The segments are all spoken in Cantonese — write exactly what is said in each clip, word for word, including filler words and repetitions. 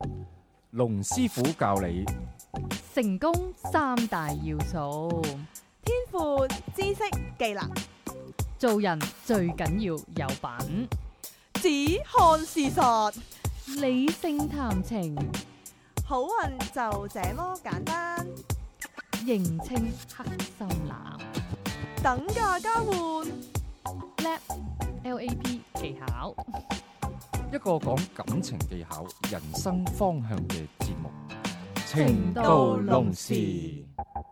龍師傅教你成功三大要素： 天賦、知識、技能。 做人最緊要有品， 只看事實， 理性談情， 好運就這麼簡單。 認清黑心男， 等價交換 L A P L A P 技巧， 一個講感情技巧、人生方向嘅節目。 情到濃時，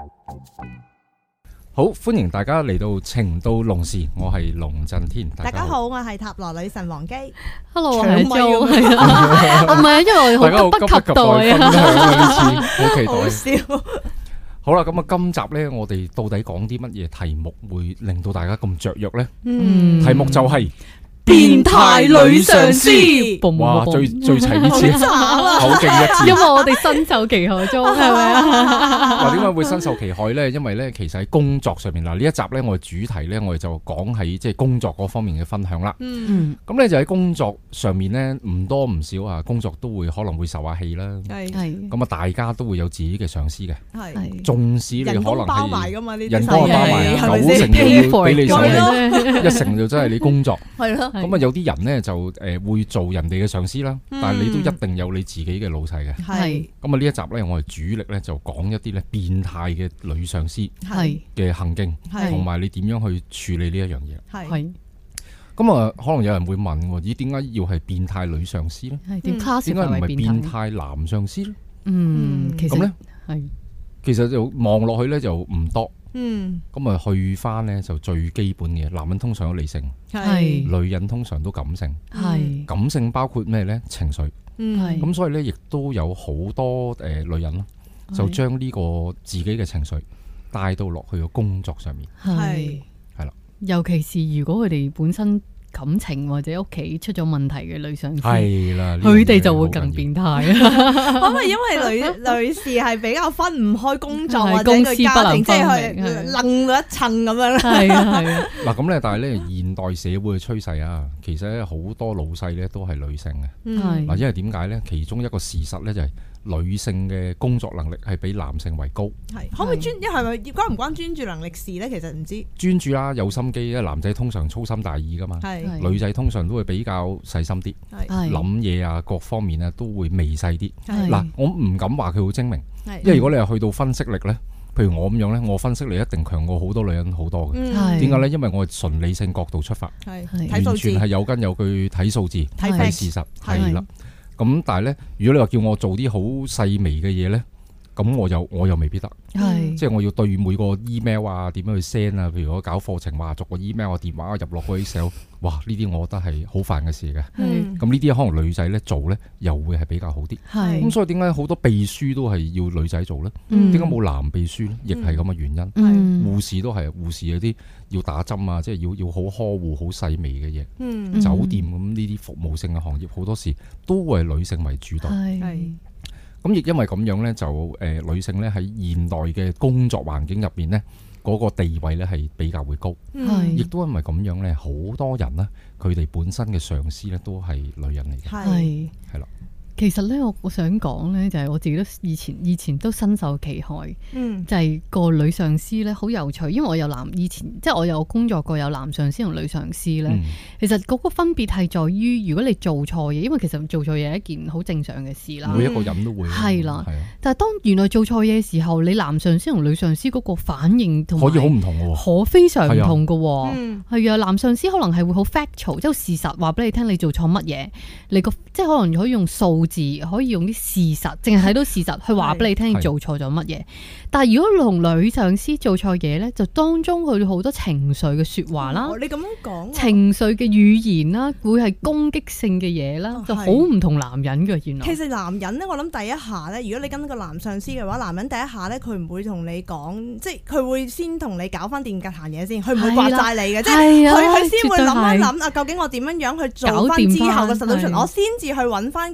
好歡迎大家嚟到情到濃時，我係龍震天。 大家好，我係塔羅女神王姬。 Hello，我係 Jo，係啊，唔係啊，因為我好急不及待啊， 呢次好期待。 好笑。 好啦，咁啊，今集咧，我哋到底講啲乜嘢題目會令到大家咁雀躍咧？ 嗯， 題目就係變態女上司。 哇，最最齊呢次，好勁一次。 因為我哋身受其害中，係咪啊？ 嗱，點解會身受其害咧？因為咧，其實喺工作上面嗱，呢一集咧，我哋主題咧，我哋就講喺即係工作嗰方面嘅分享啦。 嗯， 咁咧就喺工作上面咧，唔多唔少啊，工作都會可能會受下氣啦。 係係。 咁啊，大家都會有自己嘅上司嘅。 係。 縱使你可能係人工包埋噶嘛，呢啲人工包埋九成要俾你手氣，一成就真係你工作。 係咯。 咁啊，有啲人咧就誒會做人哋嘅上司啦，但係你都一定有你自己嘅老細嘅。 係。 咁啊，呢一集咧，我哋主力咧就講一啲咧變態嘅女上司嘅行徑，同埋你點樣去處理呢一樣嘢。 係。 咁啊，可能有人會問，咦，點解要係變態女上司咧？ 係點 class 點解唔係變態男上司咧？ 嗯，其實咁咧係， 其實就望落去咧就唔多。 嗯， 咁啊去翻咧就最基本嘅，男人通常都理性， 係女人通常都感性， 係感性包括咩咧？情緒， 係咁所以咧亦都有好多誒女人咯，就將呢個自己嘅情緒帶到落去個工作上面， 係係啦， 尤其是如果佢哋本身感情或者屋企出咗問題嘅女上司， 係啦， 佢哋就會更變態。 可能因為女女士係比較分唔開工作或者佢家庭，即係佢楞到一層咁樣啦。係啊係啊。嗱咁咧，但係咧現代社會嘅趨勢啊，其實咧好多老細咧都係女性嘅。 係嗱，因為點解咧？其中一個事實咧就係女性嘅工作能力係比男性為高。係可唔可以專？係咪關唔關專注能力事咧？其實唔知。專注啦，有心機。因為男仔通常粗心大意噶嘛。係。女仔通常都會比較細心啲，諗嘢啊，各方面啊都會微細啲。嗱，我唔敢話佢好精明，因為如果你係去到分析力咧，譬如我咁樣咧，我分析力一定強過好多女人好多嘅。點解咧？因為我係純理性角度出發，完全係有根有據睇數字、睇事實，係啦。咁但係咧，如果你話叫我做啲好細微嘅嘢咧，咁我又我又未必得。係，即係我要對每個 email 啊，點樣去 send 啊？譬如我搞課程，話逐個 email 啊、電話入落去 Excel， 哇！呢啲我覺得係好煩嘅事嘅。係，咁呢啲可能女仔咧做咧，又會係比較好啲。係，咁所以點解好多秘書都係要女仔做咧？點解冇男秘書咧？亦係咁嘅原因。係，護士都係，護士有啲要打針啊，即係要要好呵護、好細微嘅嘢。嗯，酒店咁呢啲服務性嘅行業，好多時都會係女性為主導。係。咁亦因為咁樣咧，就誒、呃、女性咧喺現代嘅工作環境入邊咧，嗰、那個地位咧係比較會高，亦都因為咁樣咧，好多人咧佢哋本身嘅上司咧都係女人嚟嘅，係係啦。 其實咧，我我想講咧，就係我自己都以前以前都深受其害，嗯，就係個女上司咧好有趣，因為我有男以前即係我有工作過有男上司同女上司咧，嗯、其實嗰個分別係在於，如果你做錯嘢，因為其實做錯嘢係一件好正常嘅事啦， 每一個人都會係啦，係啊。但係當原來做錯嘢嘅時候，你男上司同女上司嗰個反應同可以好唔同嘅， 可非常唔同嘅，嗯，係啊。男上司可能係會好 factual，即係事實話俾你聽，你做錯乜嘢，你個即係可能可以用數字可以用啲事實，淨係睇到事實去話俾你聽你做錯咗乜嘢。但係如果同女上司做錯嘢咧，就當中佢好多情緒嘅說話啦， 你咁樣講， 情緒嘅語言啦，會係攻擊性嘅嘢啦，就好唔同男人嘅。原來其實男人咧，我諗第一下咧，如果你跟個男上司嘅話，男人第一下咧，佢唔會同你講，即係佢會先同你搞翻掂格閒嘢先，佢唔會刮晒你嘅，即係佢佢先會諗一諗啊，究竟我點樣樣去做翻之後嘅 solution，我先至去揾翻究竟中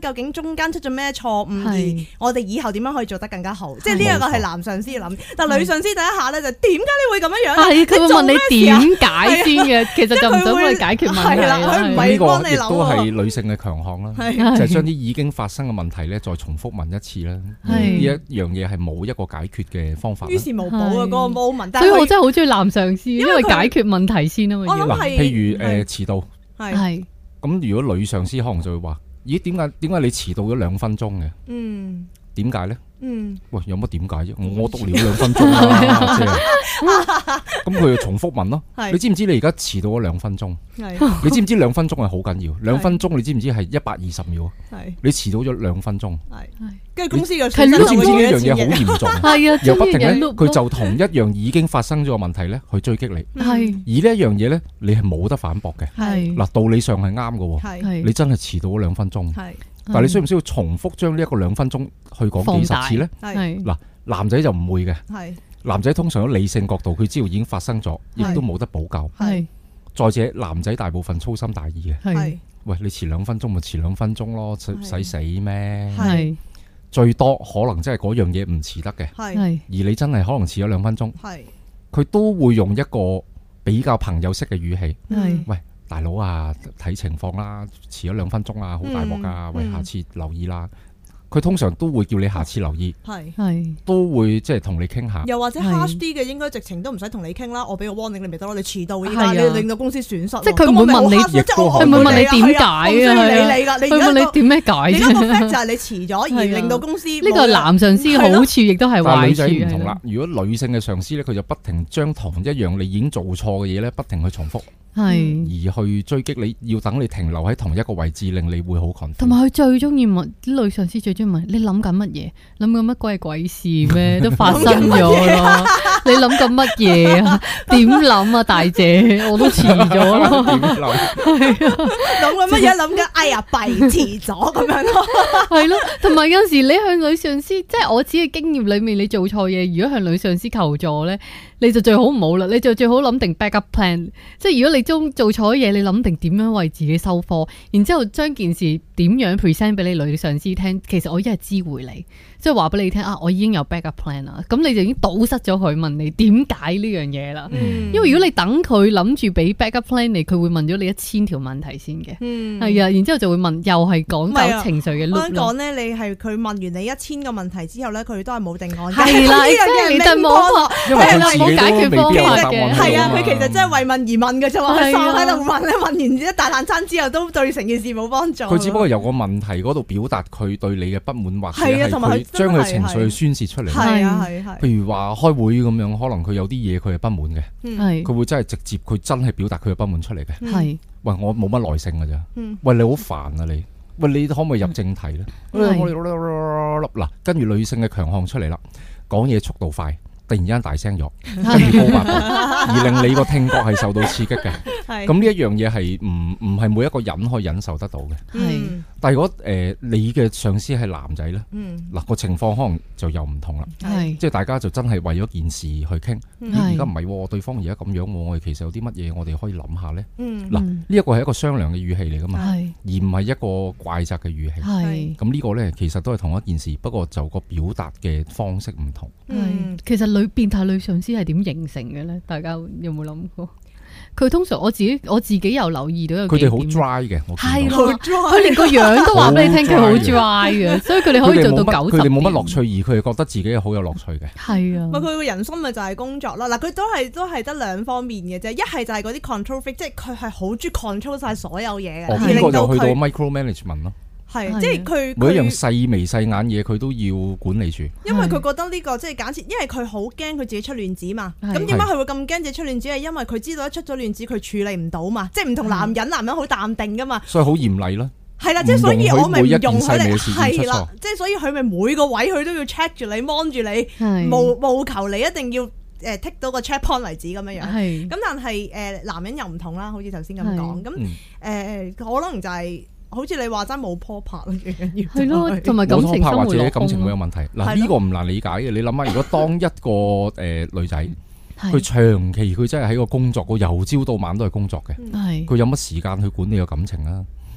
中間出咗咩錯誤，而我哋以後點樣可以做得更加好？即係呢一個係男上司諗，但係女上司第一下咧就點解你會咁樣樣？ 係佢會問你點解先嘅，其實就唔想幫你解決問題啦。 佢唔係幫你諗。呢個亦都係女性嘅強項啦，就係將啲已經發生嘅問題咧再重複問一次啦。呢一樣嘢係冇一個解決嘅方法。於事無補啊！嗰個 moment。 所以我真係好中意男上司，因為解決問題先啊嘛。 嗱， 譬如誒遲到， 係咁如果女上司可能就會話：咦，點解點解你遲到咗兩分鐘嘅？嗯，點解咧？嗯，喂，有乜點解啫？我我督了兩分鐘啦，即係咁佢就重複問咯。你知唔知你而家遲到咗兩分鐘？你知唔知兩分鐘係好緊要？兩分鐘你知唔知係一百二十秒？你遲到咗兩分鐘。 跟住公司嘅， 你知唔知呢樣嘢好嚴重？ 係啊， 又不停咧，佢就同一樣已經發生咗嘅問題咧去追擊你。係而呢一樣嘢咧，你係冇得反駁嘅。係嗱，道理上係啱嘅。係你真係遲到咗兩分鐘。係。但係你需唔需要重複將呢一個兩分鐘去講幾十次咧？係嗱，男仔就唔會嘅。係男仔通常喺理性角度，佢知道已經發生咗，亦都冇得補救。係再者，男仔大部分粗心大意嘅。係喂，你遲兩分鐘咪遲兩分鐘咯，使死咩？係最多可能真係嗰樣嘢唔遲得嘅。係而你真係可能遲咗兩分鐘。係佢都會用一個比較朋友式嘅語氣。係喂。大佬啊，睇情況啦，遲咗兩分鐘啊，好大鑊噶，喂，下次留意啦。佢通常都會叫你下次留意，係係都會即係同你傾下。 又或者 harsh 啲嘅，應該直情都唔使同你傾啦，我俾個 warning 你咪得咯。你遲到，依家你令到公司損失。即係佢唔會問你，佢唔會問你點解啊？ 理你噶，你問你點咩解？ 你個 fact 就係你遲咗而令到公司。呢個男上司好處亦都係壞處。 但係女仔唔同啦，如果女性嘅上司咧，佢就不停將同一樣你已經做錯嘅嘢咧，不停去重複。係而去追擊你，要等你停留喺同一個位置，令你會好困。同埋佢最中意問啲女上司，最中意問你諗緊乜嘢？諗緊乜鬼鬼事咩？都發生咗咯。你諗緊乜嘢啊？點諗啊，大姐？我都遲咗咯。點諗？係啊， 諗緊乜嘢？諗緊哎呀，弊遲咗咁樣咯。 係咯，同埋有陣時你向女上司，即係我自己嘅經驗裏面，你做錯嘢，如果向女上司求助咧，你就最好唔好啦。你就最好諗定 backup plan。即係如果你中做錯嘢，你諗定點樣為自己收科，然之後將件事點樣 present 俾你女上司聽。其實我一係知會你，即係話俾你聽啊，我已經有 backup plan 啦。咁你就已經堵塞咗佢問你點解呢樣嘢啦。嗯、因為如果你等佢諗住俾 backup plan 你，佢會問咗你一千條問題先嘅。係、嗯、啊，然之後就會問，又係講究情緒嘅。我想講咧，你係佢問完你一千個問題之後咧，佢都係冇定案。係啦，呢樣嘢你真冇學，因為佢自己冇解決方法嘅。 係啊，佢其實真係為問而問嘅啫嘛。喺度問咧，問完一大爛餐之後，都對成件事冇幫助。 佢只不過由個問題嗰度表達佢對你嘅不滿，或者係佢將佢情緒去宣泄出嚟。係啊係係。譬如話開會咁樣，可能佢有啲嘢佢係不滿嘅，係佢會真係直接佢真係表達佢嘅不滿出嚟嘅。係喂，我冇乜耐性㗎咋？喂，你好煩啊你！喂，你可唔可以入正題咧？嗱，跟住女性嘅強項出嚟啦，講嘢速度快。突然間大聲咗，跟住高八度，而令你個聽覺係受到刺激嘅。咁呢一樣嘢係唔唔係每一個人可以忍受得到嘅。係，但係如果誒你嘅上司係男仔咧，嗱個情況可能就又唔同啦。係，即係大家就真係為咗件事去傾。而家唔係，對方而家咁樣，我哋其實有啲乜嘢我哋可以諗下咧。嗱，呢一個係一個商量嘅語氣嚟噶嘛，而唔係一個怪責嘅語氣。係，咁呢個咧其實都係同一件事，不過就個表達嘅方式唔同。 係，其實。女變態女上司係點形成嘅咧？大家有冇諗過？佢通常我自己我自己有留意到有佢哋好 dry 嘅， 係佢連個樣都話俾你聽佢好 dry 嘅，所以佢哋可以做到九十。 佢哋冇乜樂趣，而佢哋覺得自己好有樂趣嘅。 係啊， 佢個人生咪就係工作啦。嗱，佢都係都係得兩方面嘅啫。一係就係嗰啲 control freak，即係佢係好中意 control 晒所有嘢嘅。 哦，呢個就去到 micro management 咯。 係，即係佢每一樣細微細眼嘢，佢都要管理住。 因為佢覺得呢個即係假設，因為佢好驚佢自己出亂子嘛。咁點解佢會咁驚自己出亂子？係因為佢知道一出咗亂子，佢處理唔到嘛。即係唔同男人，男人好淡定噶嘛。 所以好嚴厲咯。 係啦，即係所以我咪唔容許你。係啦，即係所以佢咪每個位佢都要 check 住你，mon 住你，務務求你一定要誒 tick 到個 check point 為止咁樣樣。係。咁但係誒男人又唔同啦，好似頭先咁講。咁誒可能就係。好似你話齋冇拖拍嘅緊要， 係咯，同埋感情生活或者感情會有問題。嗱，呢個唔難理解嘅。你諗下，如果當一個誒女仔，佢長期佢真係喺個工作，個由朝到晚都係工作嘅，佢有乜時間去管理個感情啊？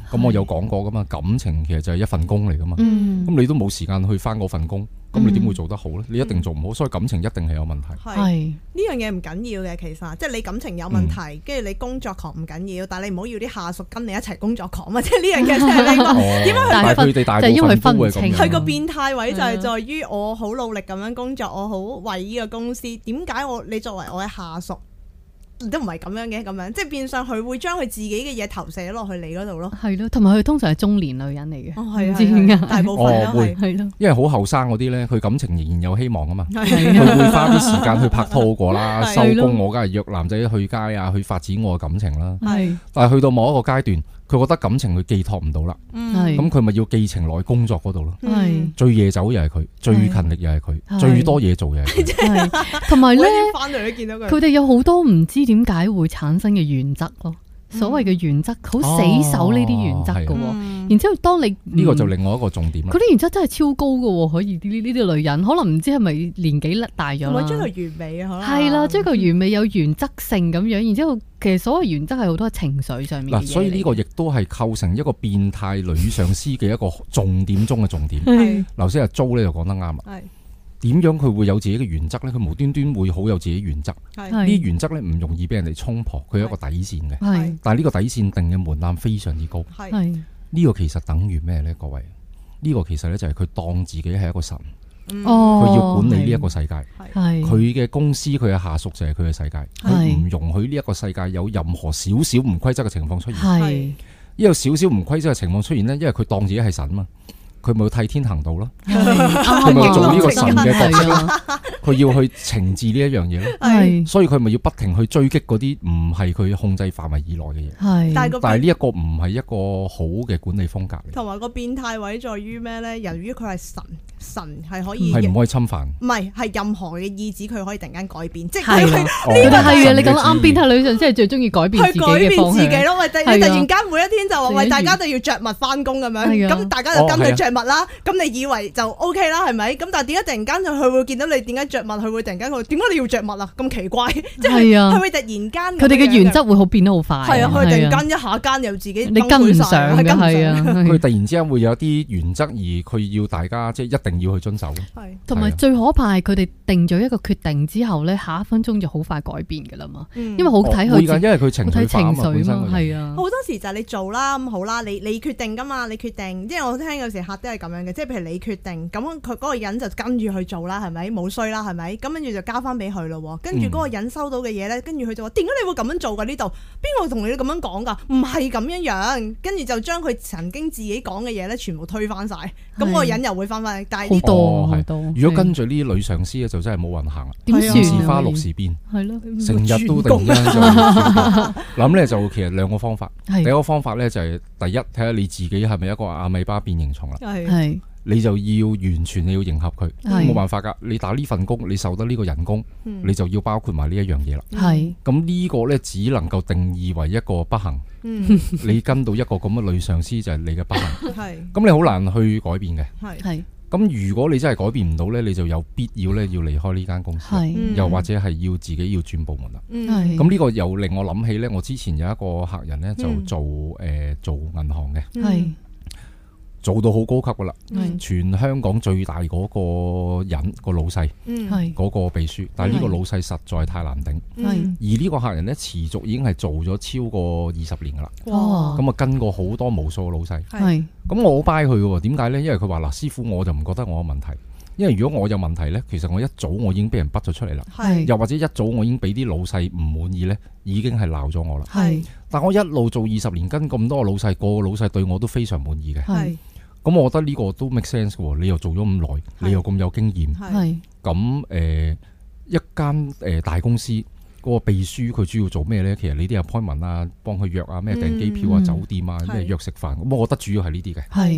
咁我有講過噶嘛，感情其實就係一份工嚟噶嘛。咁、嗯、你都冇時間去翻嗰份工，咁你點會做得好咧？你一定做唔好，所以感情一定係有問題。 係呢樣嘢唔緊要嘅，其實即係你感情有問題，跟住、嗯、你工作狂唔緊要，但係你唔好要啲下屬跟你一齊工作狂啊！即係呢樣嘢真係呢個點解但係佢哋大部分都會咁樣。 佢個變態位就係在於我好努力咁樣工作，我好為呢個公司。點解我你作為我嘅下屬？都唔係咁樣嘅，咁樣即係變相佢會將佢自己嘅嘢投射落去你嗰度咯。 係咯，同埋佢通常係中年女人嚟嘅。 哦，係啊，大部分都係係咯。 因為好後生嗰啲咧，佢感情仍然有希望啊嘛。佢會花啲時間去拍拖過啦，收工我梗係約男仔去街啊，去發展我嘅感情啦。係，但係去到某一個階段，佢覺得感情佢寄託唔到啦。咁佢咪要寄情落工作嗰度咯。係，最夜走又係佢，最勤力又係佢，最多嘢做又係佢。 同埋咧， 翻嚟都見到佢。 佢哋有好多唔知點解會產生嘅原則咯。所謂嘅原則，好死守呢啲原則㗎喎。然之後，當你呢個就另外一個重點啦。 佢啲原則真係超高㗎喎，可以呢呢啲女人可能唔知係咪年紀大咗啦。 追求完美啊，可能係啦，追求完美有原則性咁樣。然之後，其實所謂原則係好多情緒上面嘅嘢嚟。嗱，所以呢個亦都係構成一個變態女上司嘅一個重點中嘅重點。係，頭先阿 Jo 咧就講得啱啦。係。點樣佢會有自己嘅原則咧？佢無端端會好有自己原則。呢啲原則咧唔容易俾人哋衝破，佢有一個底線嘅。係，但係呢個底線定嘅門檻非常之高。係，呢個其實等於咩咧？各位，呢個其實咧就係佢當自己係一個神。哦，佢要管理呢一個世界。係，佢嘅公司佢嘅下屬就係佢嘅世界。佢唔容許呢一個世界有任何少少唔規則嘅情況出現。係，呢個少少唔規則嘅情況出現咧，因為佢當自己係神嘛。佢咪要替天行道咯，佢咪做呢個神嘅角色，佢要去懲治呢一樣嘢咯，所以佢咪要不停去追擊嗰啲唔係佢控制範圍以內嘅嘢。係，但係呢一個唔係一個好嘅管理風格嚟。同埋個變態位在於咩咧？由於佢係神，神係可以係唔可以侵犯， 唔係係任何嘅意志佢可以突然間改變，即係係呢個係啊！你講得啱，變態女上即係最中意改變自己嘅方向。佢改變自己咯，喂！你突然間每一天就話喂，大家都要着襪翻工咁樣，咁大家就跟佢着襪啦。咁你以為就 O K 啦，係咪？咁但係點解突然間佢會見到你點解着襪，佢會突然間佢點解你要着襪啊？咁奇怪，即係佢會突然間佢哋嘅原則會好變得好快。係啊，佢突然間一下間又自己你跟唔上嘅，係啊， 佢突然之間會有啲原則，而佢要大家即係一定要去遵守。 係，同埋最可怕係佢哋定咗一個決定之後咧，下一分鐘就好快改變噶啦嘛。因為好睇佢， 因為佢情緒化啊嘛，本身係啊。 好多時就係你做啦，咁好啦，你你決定噶嘛，你決定。即係我聽有時客都係咁樣嘅，即係譬如你決定，咁佢嗰個人就跟住去做啦，係咪？冇衰啦，係咪？咁跟住就交翻俾佢咯。跟住嗰個人收到嘅嘢咧，跟住佢就話：點解你會咁樣做噶？呢度邊個同你咁樣講噶？唔係咁樣樣。跟住就將佢曾經自己講嘅嘢咧，全部推翻晒。咁嗰個人又會翻翻。但係呢多好多。 如果跟住呢啲女上司咧，就真係冇運行啦。 點算？ 時花六時變， 係咯， 成日都突然間就諗咧，就其實兩個方法。第一個方法咧就係第一，睇下你自己係咪一個阿米巴變形蟲啦。係，你就要完全你要迎合佢，冇辦法噶。你打呢份工，你受得呢個人工，你就要包括埋呢一樣嘢啦。係，咁呢個咧只能夠定義為一個不幸。你跟到一個咁嘅女上司就係你嘅不幸。係，咁你好難去改變嘅。係。咁如果你真係改變唔到咧，你就有必要咧要離開呢間公司，是又或者係要自己要轉部門啦。咁呢是個又令我諗起咧，我之前有一個客人咧就做誒、呃、做銀行嘅，是做到好高級噶啦，是全香港最大嗰個人個老細，嗰個秘書，但係呢個老細實在太難頂，是而呢個客人咧持續已經係做咗超過二十年噶啦，咁啊哇跟過好多無數老細，咁是我好 buy 佢嘅，點解咧？因為佢話嗱，師傅我就唔覺得我有問題，因為如果我有問題咧，其實我一早我已經俾人畢咗出嚟啦，是又或者一早我已經俾啲老細唔滿意咧，已經係鬧咗我啦，是但我一路做二十年，跟咁多個老細，個個老細對我都非常滿意嘅。咁我覺得呢個都 make sense 嘅，你又做咗咁耐，是你又咁有經驗，咁誒、呃、一間誒大公司嗰、嗰個秘書佢主要做咩咧？其實你啲 appointment啊，幫佢約啊，咩訂機票啊、嗯、酒店啊，咩約食飯，咁我覺得主要係呢啲嘅。係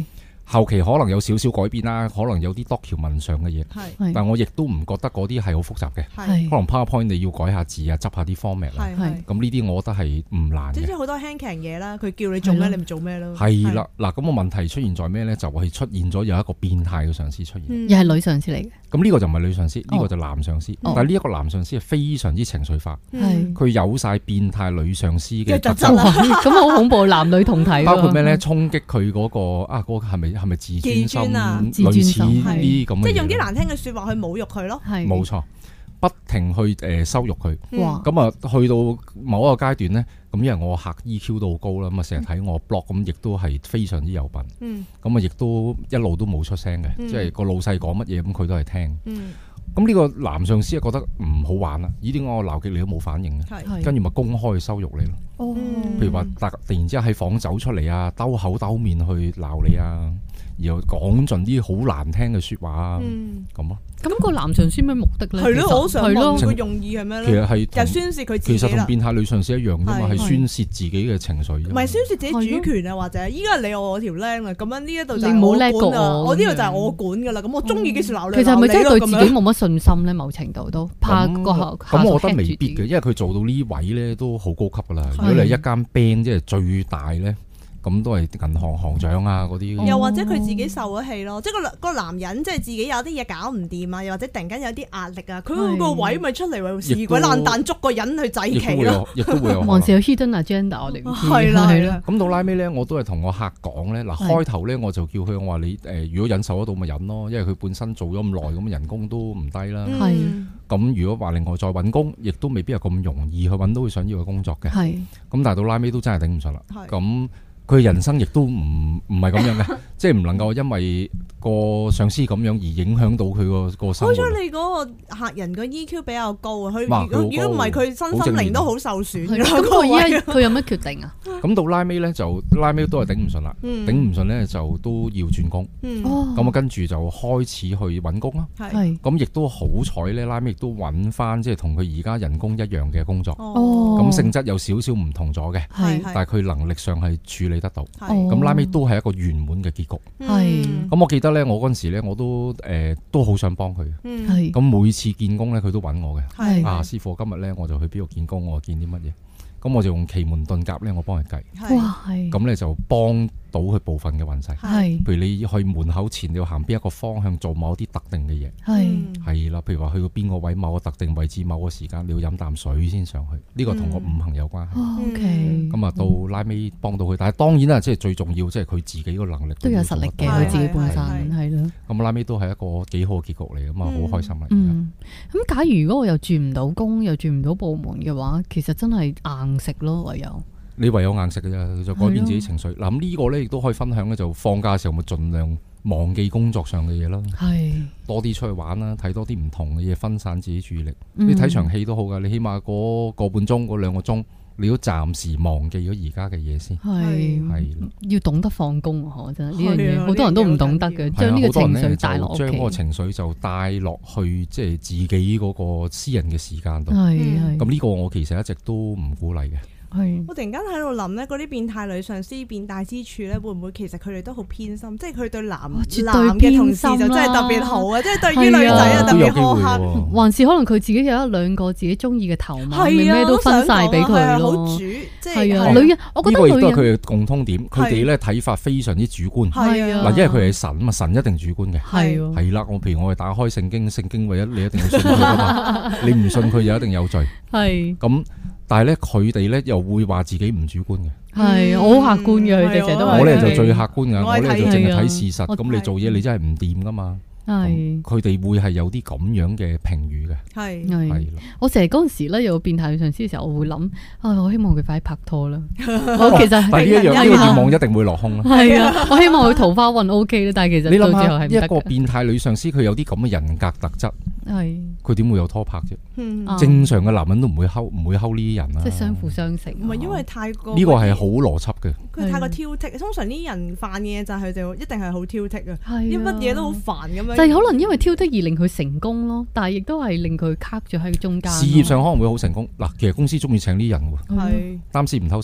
後期可能有少少改變啦，可能有啲 document 上嘅嘢， 係， 但我亦都唔覺得嗰啲係好複雜嘅， 係， 可能 PowerPoint 你要改下字啊，執下啲 format 啦， 係， 咁呢啲我覺得係唔難嘅。 即係好多輕騎嘢啦，佢叫你做咩你咪做咩咯。 係啦，嗱，咁個問題出現在咩咧？就係出現咗有一個變態嘅上司出現， 嗯、又係女上司嚟嘅。咁呢個就唔係女上司，呢、 哦、 個就男上司。哦、但係呢一個男上司係非常之情緒化，佢、嗯、有晒變態女上司嘅特質。 咁好恐怖，男女同體。 包括咩咧？衝擊佢嗰個啊，嗰、嗰個係咪係咪自尊心？ 啊、 類似呢啲咁嘅嘢， 即係用啲難聽嘅説話去侮辱佢咯。 冇錯，不停去誒羞辱佢。 哇！ 咁啊，去到某一個階段咧，咁因為我客 E Q 都好高啦，咁啊成日睇我 blog，咁亦都係非常之有品。嗯。咁啊，亦都一路都冇出聲嘅，嗯、即係個老細講乜嘢，咁佢都係聽。嗯。咁呢個男上司啊覺得唔好玩啦，呢啲我鬧極你都冇反應嘅，跟住咪公開去羞辱你咯。哦。譬如話突突然之間喺房走出嚟啊，兜口兜面去鬧你啊！然後講盡啲好難聽嘅説話啊，咁咯、嗯。咁個男上司咩目的咧？ 係咯，我好想問佢用意係咩咧？ 其實係就宣泄佢自己。 其實同變態女上司一樣啫嘛，係宣泄自己嘅情緒。唔係宣泄自己主權啊，或者依家你我條僆啊，咁樣呢一度就係我管啊，我呢度就係我管噶啦。咁我中意幾時鬧你鬧你咯。 其實係咪真係對自己冇乜信心咧？某程度都怕個下屬。 咁我覺得未必嘅，因為佢做到呢位咧都好高級噶啦。如果你係一間 band 即係最大咧。咁都係銀行行長啊嗰啲， 又或者佢自己受咗氣咯，即係個個男人即係自己有啲嘢搞唔掂啊，又或者突然間有啲壓力啊，佢個位咪出嚟為事鬼爛蛋捉個人去祭旗咯， 亦都會有， 還是有 hidden agenda 我哋唔知。 係啦係啦。 咁到拉尾咧，我都係同我客講咧，嗱開頭咧我就叫佢，我話你誒，如果忍受得到咪忍咯，因為佢本身做咗咁耐，咁人工都唔低啦。係。咁如果話另外再揾工，亦都未必係咁容易去揾到佢想要嘅工作嘅。係。咁但係到拉尾都真係頂唔順啦。係。咁。佢人生亦都唔唔係咁樣嘅，即係唔能夠因為個上司咁樣而影響到佢個個生活。好彩你嗰個客人個 E Q 比較高啊，佢如果如果唔係佢身心靈都好受損嘅。 咁佢依家佢有乜決定啊？ 咁到拉尾咧就拉尾都係頂唔順啦，頂唔順咧就都要轉工。咁啊跟住就開始去揾工啦。咁亦都好彩咧，拉尾亦都揾翻即係同佢而家人工一樣嘅工作。咁性質有少少唔同咗嘅，但係佢能力上係處理得到，咁拉尾都係一個圓滿嘅結局。係，咁我記得咧，我嗰陣時咧，我都誒都好想幫佢。係，咁每次見工咧，佢都揾我嘅。係，啊師傅，今日咧我就去邊度見工，我見啲乜嘢，咁我就用奇門遁甲咧，我幫佢計。哇，係，咁咧就幫到佢部分嘅運勢。係，譬如你去門口前你要行邊一個方向做某啲特定嘅嘢。係，係啦，譬如話去到邊個位，某個特定位置，某個時間你要飲啖水先上去，呢個同個五行有關係。O K，咁啊到拉尾幫到佢，但係當然啦，即係最重要，即係佢自己個能力都有實力嘅，佢自己本身係咯。 咁拉尾都係一個幾好嘅結局嚟，咁啊好開心啦。 嗯，咁假如如果我又轉唔到工，又轉唔到部門嘅話，其實真係硬食咯，唯有。你唯有硬食嘅啫，就改變自己情緒。嗱咁呢個咧亦都可以分享咧，就放假嘅時候咪盡量忘記工作上嘅嘢啦。係多啲出去玩啦，睇多啲唔同嘅嘢，分散自己注意力。你睇場戲都好噶，你起碼嗰個半鐘、嗰兩個鐘，你都暫時忘記咗而家嘅嘢先。係係要懂得放工啊！真係呢樣嘢，好多人都唔懂得嘅，將呢個情緒帶落屋企， 將嗰個情緒就帶落去，即係自己嗰個私人嘅時間度。 係係咁呢個我其實一直都唔鼓勵嘅。 係，我突然間喺度諗咧，嗰啲變態女上司變態之處咧，會唔會其實佢哋都好偏心？即係佢對男男嘅同事就真係特別好啊！即係對於女仔啊特別苛刻， 還是可能佢自己有一兩個自己中意嘅頭馬，咩都分晒俾佢咯。好主，即係啊，女人，我覺得女人呢個亦都係佢嘅共通點，佢哋咧睇法非常之主觀。係啊，嗱，因為佢係神啊嘛，神一定主觀嘅。係係啦，我譬如我哋打開聖經，聖經唯一你一定要信佢噶嘛，你唔信佢就一定有罪。係咁。但係咧，佢哋咧又會話自己唔主觀嘅。係，我好客觀嘅，佢哋成日都話。我咧就最客觀噶，我咧就淨係睇事實。咁你做嘢你真係唔掂噶嘛？係，佢哋會係有啲咁樣嘅評語嘅。係係，我成日嗰陣時咧有變態上司嘅時候，我會諗啊，我希望佢快啲拍拖啦。我其實但係呢一樣呢個願望一定會落空啦。係啊，我希望佢桃花運 O K 啦，但係其實到最後係唔得嘅。一個變態女上司，佢有啲咁嘅人格特質。係，佢點會有拖拍啫？嗯、正常嘅男人都唔會溝唔會溝呢啲人啦。即係相輔相成，唔係因為太過呢個係好邏輯嘅。佢太過挑剔，通常呢啲人犯嘅嘢就係佢哋一定係好挑剔啊，啲乜嘢都好煩咁樣。就係可能因為挑剔而令佢成功咯，但係亦都係令佢卡住喺中間。事業上可能會好成功嗱，其實公司中意請呢啲人喎，係擔屎唔偷食。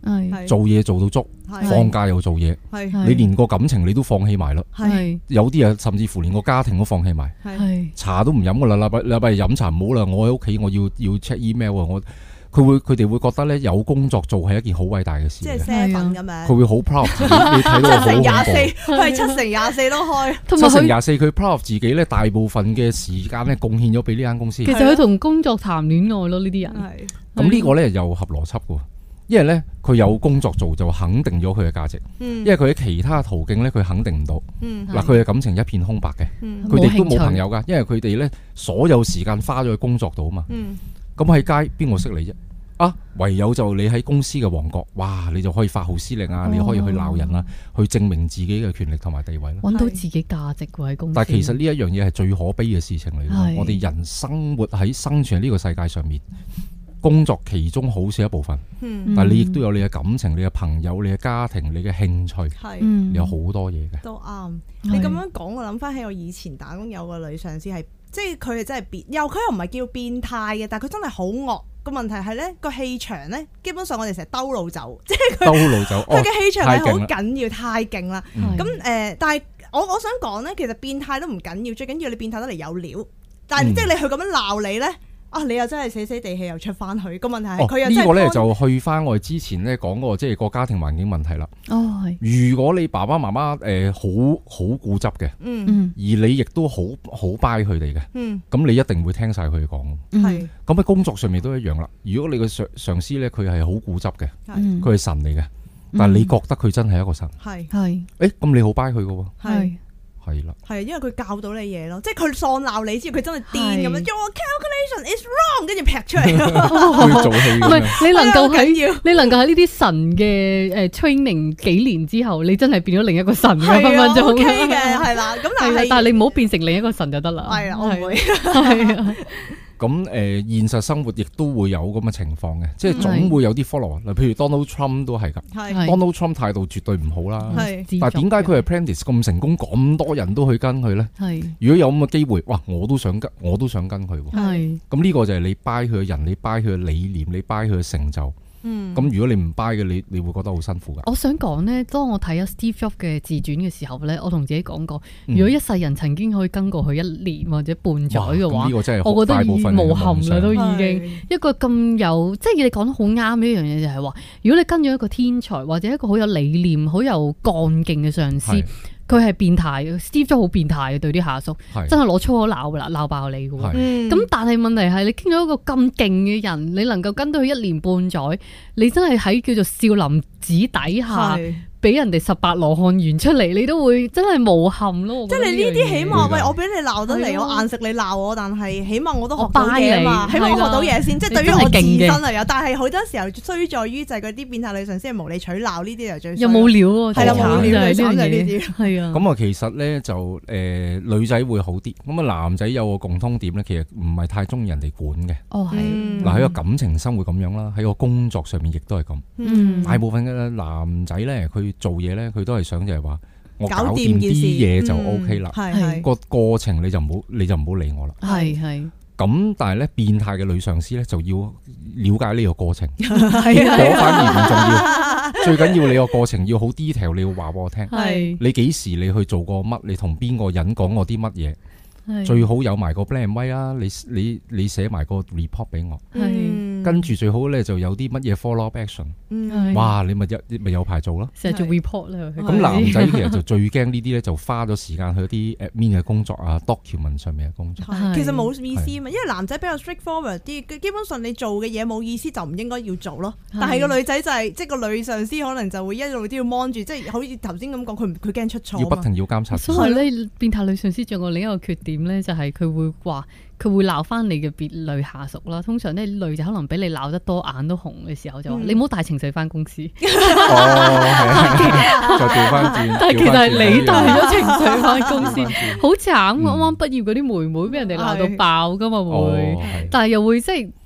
做嘢做到足，放假又做嘢，你連個感情你都放棄埋啦。有啲啊，甚至乎連個家庭都放棄埋，茶都唔飲噶啦。禮拜禮拜日飲茶唔好啦，我喺屋企我要要 check email 啊，我佢會佢哋會覺得咧有工作做係一件好偉大嘅事，即係 seven 咁樣。 佢會好 proud 自己，你睇到好恐怖。七成廿四， 佢係七成廿四都開。 七成廿四，佢 proud 自己咧，大部分嘅時間咧貢獻咗俾呢間公司。 其實佢同工作談戀愛咯，呢啲人。 咁呢個咧又合邏輯嘅，因為咧佢有工作做就肯定咗佢嘅價值。因為佢喺其他途徑咧，佢肯定唔到。嗱，佢嘅感情一片空白嘅，佢哋都冇朋友噶，因為佢哋咧所有時間花咗喺工作度啊嘛。咁喺街邊個識你啫？啊，唯有就你喺公司嘅王國，哇，你就可以發號施令啊，你可以去鬧人啊，去證明自己嘅權力同埋地位啦， 揾到自己價值喺公司。 但係其實呢一樣嘢係最可悲嘅事情嚟嘅。我哋人生活喺生存喺呢個世界上面，工作其中好少一部分，嗯、但係你亦都有你嘅感情、你嘅朋友、你嘅家庭、你嘅興趣，係、嗯、有好多嘢嘅。 都啱。你咁樣講，我諗翻起我以前打工有個女上司係，即係佢係真係變，又佢又唔係叫變態嘅，但係佢真係好惡。個問題係咧，個氣場咧，基本上我哋成日兜路走，即係佢兜路走，佢嘅氣場係好緊要，太勁啦。咁誒、呃，但係我我想講咧，其實變態都唔緊要，最緊要你變態得嚟有料。但係、嗯、即係你去咁樣鬧你咧。啊！你又真係死死地氣又出翻去，個問題係佢又真係呢個咧就去翻我哋之前咧講過，即係個家庭環境問題啦。哦，係。如果你爸爸媽媽誒好好固執嘅，嗯，而你亦都好好 buy 佢哋嘅，嗯，咁你一定會聽晒佢哋講。係。咁喺工作上面都一樣啦。如果你個上上司咧，佢係好固執嘅，佢係神嚟嘅，但係你覺得佢真係一個神，係係。誒，咁你好 buy 佢嘅喎，係。係啦，係因為佢教到你嘢咯，即係佢喪鬧你之後，佢真係癲咁樣，Your calculation is wrong，跟住劈出嚟。佢做戲唔係你能夠喺你能夠喺呢啲神嘅誒 training 幾年之後，你真係變咗另一個神嘅分分鐘。O K 嘅係啦，咁但係但係你唔好變成另一個神就得啦。係啦，我唔會。係啊。咁誒、呃，現實生活亦都會有咁嘅情況嘅，即係總會有啲 follow。嗱，譬如 Donald Trump 都係㗎，Donald Trump 態度絕對唔好啦。係，但係點解佢係 Apprentice 咁成功，咁多人都去跟佢咧？係，如果有咁嘅機會，哇，我都想跟，我都想跟佢。係，咁呢個就係你 buy 佢嘅人，你 buy 佢嘅理念，你 buy 佢嘅成就。嗯，咁如果你唔 buy 嘅，你你會覺得好辛苦噶。我想講呢，當我睇咗 Steve Jobs 嘅自傳嘅時候呢，我同自己講過，如果一世人曾經可以跟過佢一年或者半載嘅話，我覺得已經無憾啦，都已經一個咁有，即係你講得好啱呢一樣嘢，就係話，如果你跟咗一個天才或者一個好有理念、好有幹勁嘅上司。佢係變態嘅 ，Steve Jobs 好變態嘅，對啲下屬，是真係攞粗口鬧噶啦，鬧爆你嘅。咁是、嗯、但係問題係你傾咗一個咁勁嘅人，你能夠跟到佢一年半載，你真係喺叫做少林寺底下。俾人哋十八羅漢緣出嚟，你都會真係無憾咯。即係你呢啲起碼，喂，我俾你鬧得嚟，我硬食你鬧我，但係起碼我都學到嘢嘛，起碼我學到嘢先。即係對於我自身嚟講，但係好多時候衰在於就係嗰啲變態女上司係無理取鬧呢啲就最。又冇料喎，係啦，冇料，就係呢啲。係啊。咁啊，其實咧就誒女仔會好啲，咁啊男仔有個共通點咧，其實唔係太中意人哋管嘅。哦，係。嗱喺個感情生活咁樣啦，喺個工作上面亦都係咁。嗯。大部分嘅男仔咧，佢做嘢咧，佢都係想就係話我搞掂啲嘢就 O K 啦，係個過程你就唔好你就唔好理我啦。係係咁，但係咧變態嘅女上司咧就要了解呢個過程，嗰反而唔重要，最緊要你個過程要好 detail，你要話俾我聽，係你幾時你去做過乜，你同邊個人講過啲乜嘢。最好有埋個 plan way 啊！你你你寫埋個 report 俾我，跟住最好咧就有啲乜嘢 follow up action。哇！你咪有咪有排做咯。成日做 report 咧。咁男仔其實就最驚呢啲咧，就花咗時間去啲 admin 嘅工作啊 document 上面嘅工作。其實冇意思啊嘛，因為男仔比較 straightforward 啲，基本上你做嘅嘢冇意思就唔應該要做咯。但係個女仔就係即係個女上司可能就會一路都要 mon 住，即係好似頭先咁講，佢佢驚出錯。要不停要監察。所以咧，變態女上司仲有另一個缺點。點咧就係佢會話佢會鬧翻你嘅別女下屬啦。通常咧女仔可能俾你鬧得多眼都紅嘅時候就話、嗯、你唔好帶情緒翻公司。哦，就調翻轉。但係其實係你帶咗情緒翻公司，好慘。啱啱畢業嗰啲妹妹俾人哋鬧到爆噶嘛會，哦、但係又會即係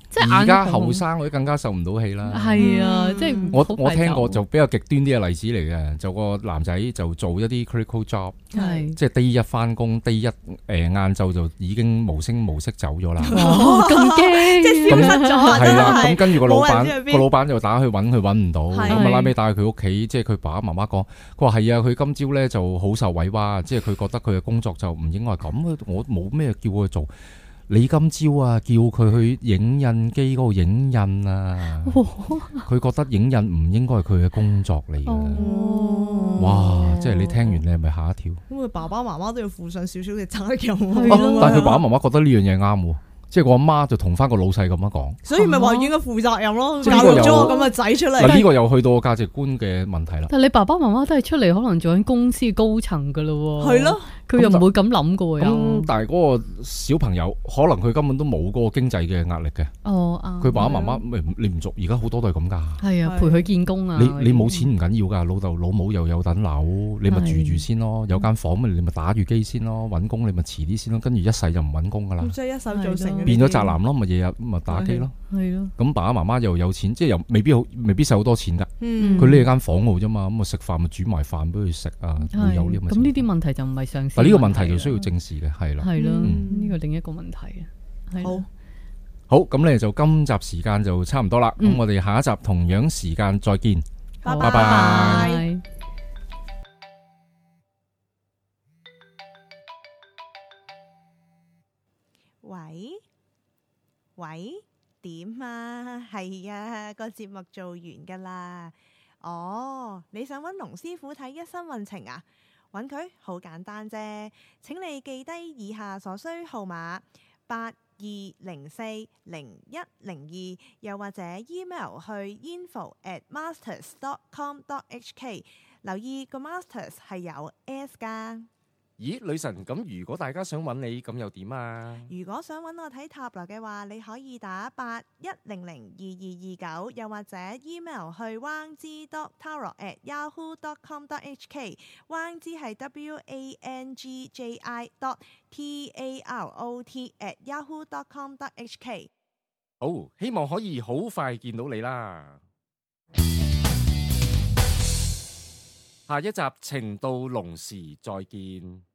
即係而家後生嗰啲更加受唔到氣啦。 係啊，即係我我聽過就比較極端啲嘅例子嚟嘅，就個男仔就做一啲 critical job，即係 day 一翻工 day 一誒晏晝就已經無聲無息走咗啦。 哦，咁驚， 即係消失咗。 係啦，咁跟住個老闆個老闆就打去揾佢揾唔到，咁啊拉尾帶佢屋企，即係佢爸爸媽媽講，佢話係啊，佢今朝咧就好受委屈，即係佢覺得佢嘅工作就唔應該係咁，我冇咩叫佢做。你今朝啊，叫佢去影印機嗰度影印啊，佢覺得影印唔應該係佢嘅工作嚟嘅。哦、哇！即係你聽完你係咪嚇一跳？咁佢爸爸媽媽都要負上少少嘅責任。 啊、但係佢爸爸媽媽覺得呢樣嘢啱喎。即係我阿媽就同翻個老細咁樣講， 所以咪話應該負責任咯，教育咗個咁嘅仔出嚟。 嗱，呢個又去到價值觀嘅問題啦。 但係你爸爸媽媽都係出嚟可能做緊公司高層噶咯，係咯，佢又唔會咁諗噶喎。 咁但係嗰個小朋友可能佢根本都冇嗰個經濟嘅壓力嘅。哦，佢爸爸媽媽你唔做，而家好多都係咁噶。係啊，陪佢見工啊。你你冇錢唔緊要噶，老豆老母又有等樓，你咪住住先咯。有間房咪你咪打住機先咯，搵工你咪遲啲先咯，跟住一世就唔搵工噶啦。即係一手造成。變咗宅男咯，咪日日咪打機咯，係咯。咁爸爸媽媽又有錢，即係又未必好，未必使好多錢噶。佢匿喺間房度啫嘛，咁啊食飯咪煮埋飯俾佢食啊，會有呢咁。咁呢啲問題就唔係上司。但呢個問題就需要正視嘅，係啦。係咯，呢個另一個問題啊。好，好，咁咧就今集時間就差唔多啦。咁我哋下一集同樣時間再見，拜拜。 喂喂，點啊？係啊，個節目做完噶啦。哦，你想揾龍師傅睇一生運程啊？揾佢好簡單啫，請你記低以下所需號碼：八二零四零一零二，又或者 email 去 info at masters dot com dot h k。留意個 masters 係有 s 噶。 咦，女神，咁如果大家想揾你，咁又點啊？ 如果想揾我睇塔羅嘅話，你可以打八一零零二二二九，又或者 email 去 wang zi dot tarot at yahoo dot com dot h k。wang zi 係 w a n g j i dot t a r o t at yahoo dot com dot h k。 好，希望可以好快見到你啦。下一集情到濃時再見。